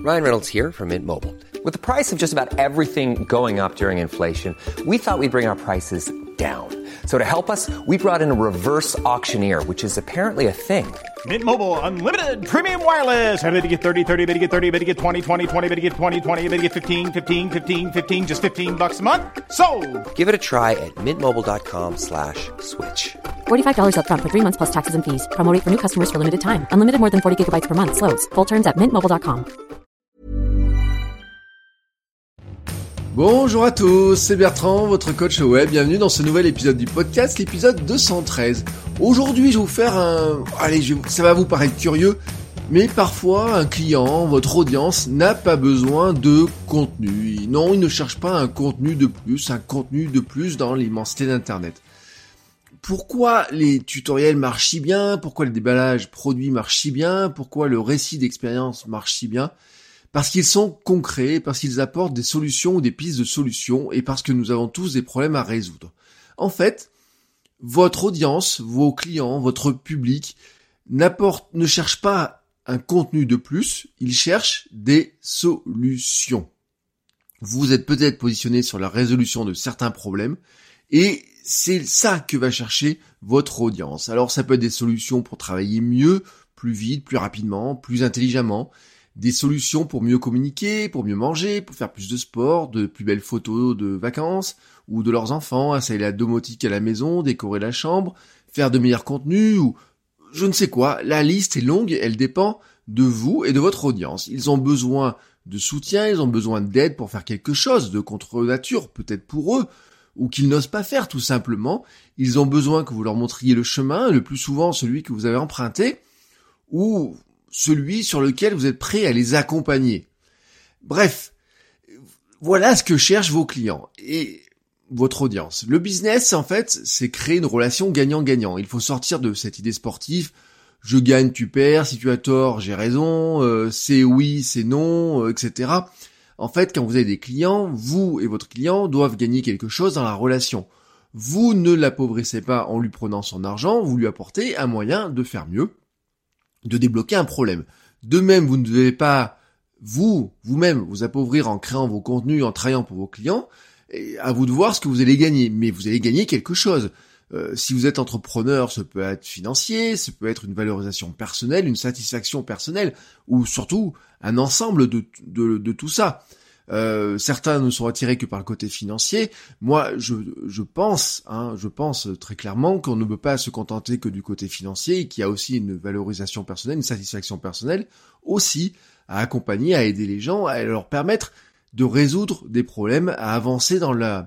Ryan Reynolds here from Mint Mobile. With the price of just about everything going up during inflation, we thought we'd bring our prices down. So to help us, we brought in a reverse auctioneer, which is apparently a thing. Mint Mobile Unlimited Premium Wireless. How to get 30, 30, how to get 30, how to get 20, 20, 20, how to get 20, 20, how to get 15, 15, 15, 15, just $15 a month? Sold! Give it a try at mintmobile.com/switch. $45 up front for 3 months plus taxes and fees. Promo rate for new customers for limited time. Unlimited more than 40 gigabytes per month. Slows full terms at mintmobile.com. Bonjour à tous, c'est Bertrand, votre coach web. Bienvenue dans ce nouvel épisode du podcast, l'épisode 213. Aujourd'hui, je vais vous faire ça va vous paraître curieux, mais parfois un client, votre audience, n'a pas besoin de contenu. Non, il ne cherche pas un contenu de plus dans l'immensité d'Internet. Pourquoi les tutoriels marchent si bien? Pourquoi le déballage produit marche si bien? Pourquoi le récit d'expérience marche si bien? Parce qu'ils sont concrets, parce qu'ils apportent des solutions ou des pistes de solutions, et parce que nous avons tous des problèmes à résoudre. En fait, votre audience, vos clients, votre public ne cherche pas un contenu de plus, ils cherchent des solutions. Vous êtes peut-être positionné sur la résolution de certains problèmes, et c'est ça que va chercher votre audience. Alors ça peut être des solutions pour travailler mieux, plus vite, plus rapidement, plus intelligemment, des solutions pour mieux communiquer, pour mieux manger, pour faire plus de sport, de plus belles photos de vacances, ou de leurs enfants, installer la domotique à la maison, décorer la chambre, faire de meilleurs contenus, ou je ne sais quoi. La liste est longue, elle dépend de vous et de votre audience. Ils ont besoin de soutien, ils ont besoin d'aide pour faire quelque chose de contre nature, peut-être pour eux, ou qu'ils n'osent pas faire tout simplement. Ils ont besoin que vous leur montriez le chemin, le plus souvent celui que vous avez emprunté, ou celui sur lequel vous êtes prêt à les accompagner. Bref, voilà ce que cherchent vos clients et votre audience. Le business, en fait, c'est créer une relation gagnant-gagnant. Il faut sortir de cette idée sportive, je gagne, tu perds, si tu as tort, j'ai raison, c'est oui, c'est non, etc. En fait, quand vous avez des clients, vous et votre client doivent gagner quelque chose dans la relation. Vous ne l'appauvrissez pas en lui prenant son argent, vous lui apportez un moyen de faire mieux, de débloquer un problème. De même, vous ne devez pas vous-même vous appauvrir en créant vos contenus, en travaillant pour vos clients. Et à vous de voir ce que vous allez gagner, mais vous allez gagner quelque chose. Si vous êtes entrepreneur, ça peut être financier, ça peut être une valorisation personnelle, une satisfaction personnelle, ou surtout un ensemble de tout ça. Certains ne sont attirés que par le côté financier. Moi, je pense très clairement qu'on ne peut pas se contenter que du côté financier et qu'il y a aussi une valorisation personnelle, une satisfaction personnelle aussi à accompagner, à aider les gens, à leur permettre de résoudre des problèmes, à avancer dans la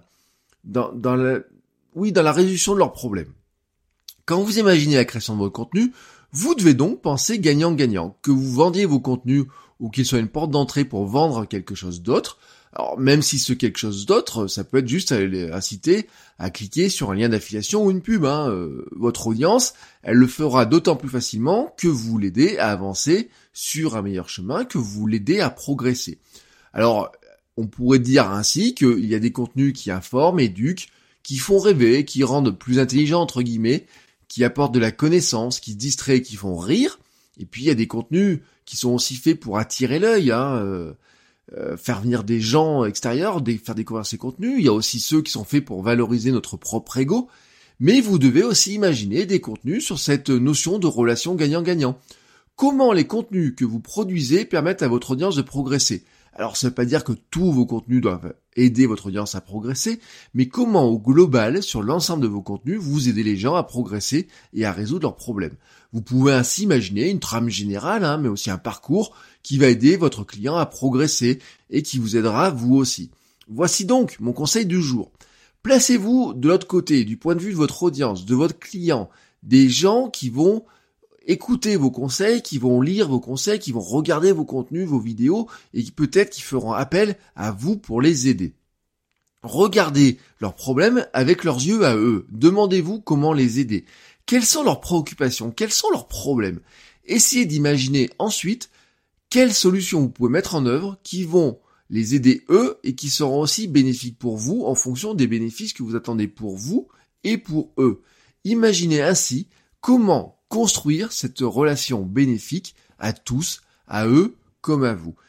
résolution de leurs problèmes. Quand vous imaginez la création de votre contenu, vous devez donc penser gagnant-gagnant, que vous vendiez vos contenus ou qu'il soit une porte d'entrée pour vendre quelque chose d'autre. Alors même si ce quelque chose d'autre, ça peut être juste à inciter à cliquer sur un lien d'affiliation ou une pub. Votre audience, elle le fera d'autant plus facilement que vous l'aidez à avancer sur un meilleur chemin, que vous l'aidez à progresser. Alors on pourrait dire ainsi qu'il y a des contenus qui informent, éduquent, qui font rêver, qui rendent plus intelligents entre guillemets, qui apportent de la connaissance, qui distraient, qui font rire. Et puis il y a des contenus qui sont aussi faits pour attirer l'œil, faire venir des gens extérieurs, faire découvrir ces contenus. Il y a aussi ceux qui sont faits pour valoriser notre propre ego. Mais vous devez aussi imaginer des contenus sur cette notion de relation gagnant-gagnant. Comment les contenus que vous produisez permettent à votre audience de progresser? Alors ça ne veut pas dire que tous vos contenus doivent aider votre audience à progresser, mais comment au global, sur l'ensemble de vos contenus, vous aidez les gens à progresser et à résoudre leurs problèmes. Vous pouvez ainsi imaginer une trame générale, mais aussi un parcours qui va aider votre client à progresser et qui vous aidera vous aussi. Voici donc mon conseil du jour. Placez-vous de l'autre côté, du point de vue de votre audience, de votre client, des gens qui vont écouter vos conseils, qui vont lire vos conseils, qui vont regarder vos contenus, vos vidéos, et qui peut-être qui feront appel à vous pour les aider. Regardez leurs problèmes avec leurs yeux à eux. Demandez-vous comment les aider. Quelles sont leurs préoccupations? Quels sont leurs problèmes? Essayez d'imaginer ensuite quelles solutions vous pouvez mettre en œuvre qui vont les aider eux et qui seront aussi bénéfiques pour vous en fonction des bénéfices que vous attendez pour vous et pour eux. Imaginez ainsi comment construire cette relation bénéfique à tous, à eux comme à vous.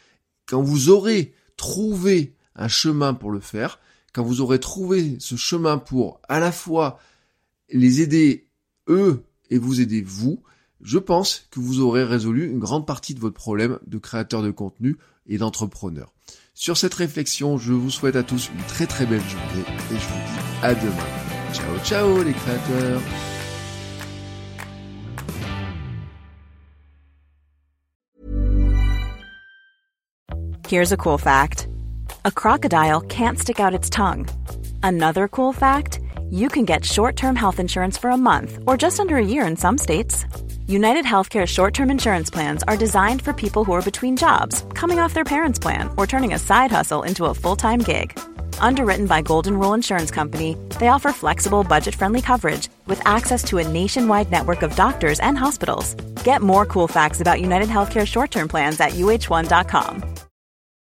quand vous aurez trouvé un chemin pour le faire, quand vous aurez trouvé ce chemin pour à la fois les aider eux et vous aider vous, je pense que vous aurez résolu une grande partie de votre problème de créateur de contenu et d'entrepreneur. Sur cette réflexion, je vous souhaite à tous une très très belle journée et je vous dis à demain. Ciao ciao les créateurs. Here's a cool fact. A crocodile can't stick out its tongue. Another cool fact, you can get short-term health insurance for a month or just under a year in some states. United Healthcare short-term insurance plans are designed for people who are between jobs, coming off their parents' plan, or turning a side hustle into a full-time gig. Underwritten by Golden Rule Insurance Company, they offer flexible, budget-friendly coverage with access to a nationwide network of doctors and hospitals. Get more cool facts about United Healthcare short-term plans at uh1.com.